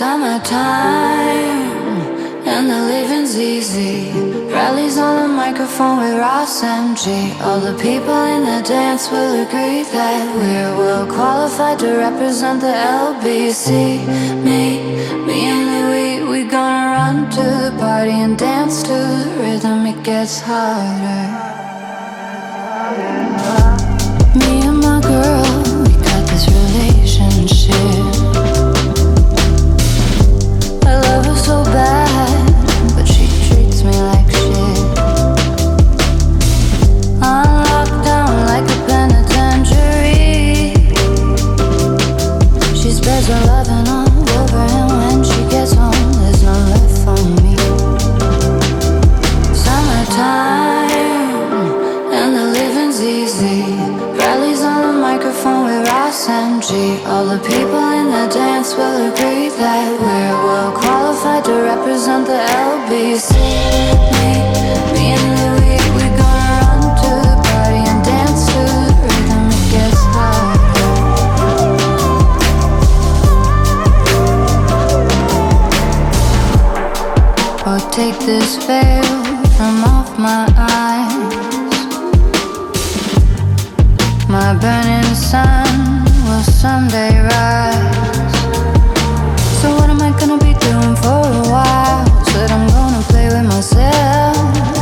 Summertime and the living's easy. Rallies on the microphone with Ross MG. All the people in the dance will agree that we're well qualified to represent the LBC. Me and Louis, we gonna run to the party and dance to the rhythm. It gets harder. Me and my girl, we got this relationship. I love her so bad, but she treats me like shit. I'm locked down like a penitentiary. She spreads her loving all over, and when she gets home, there's none left for me. Summertime and the living's easy. Rallies on the microphone with Ross MG. All the people in the dance will agree that we're well qualified to represent the LBC. Me and Louis, we gonna run to the party and dance to the rhythm. It gets harder. Oh, take this veil from off my eyes. My burning sun will someday rise. So what am I gonna be doing for a while? Said I'm gonna play with myself.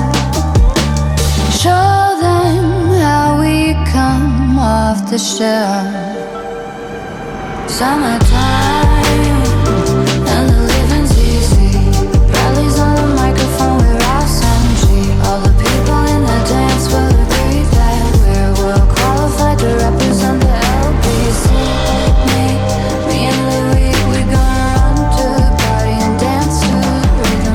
Show them how we come off the shelf. Summertime and the living's easy. Rallies on the microphone with Ross MG. All the people in the dance will agree that we're well qualified to represent the LBC. Me and Louis, we gonna run to the party and dance to the rhythm.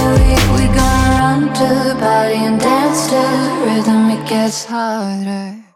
Body and dance to the rhythm, it gets harder.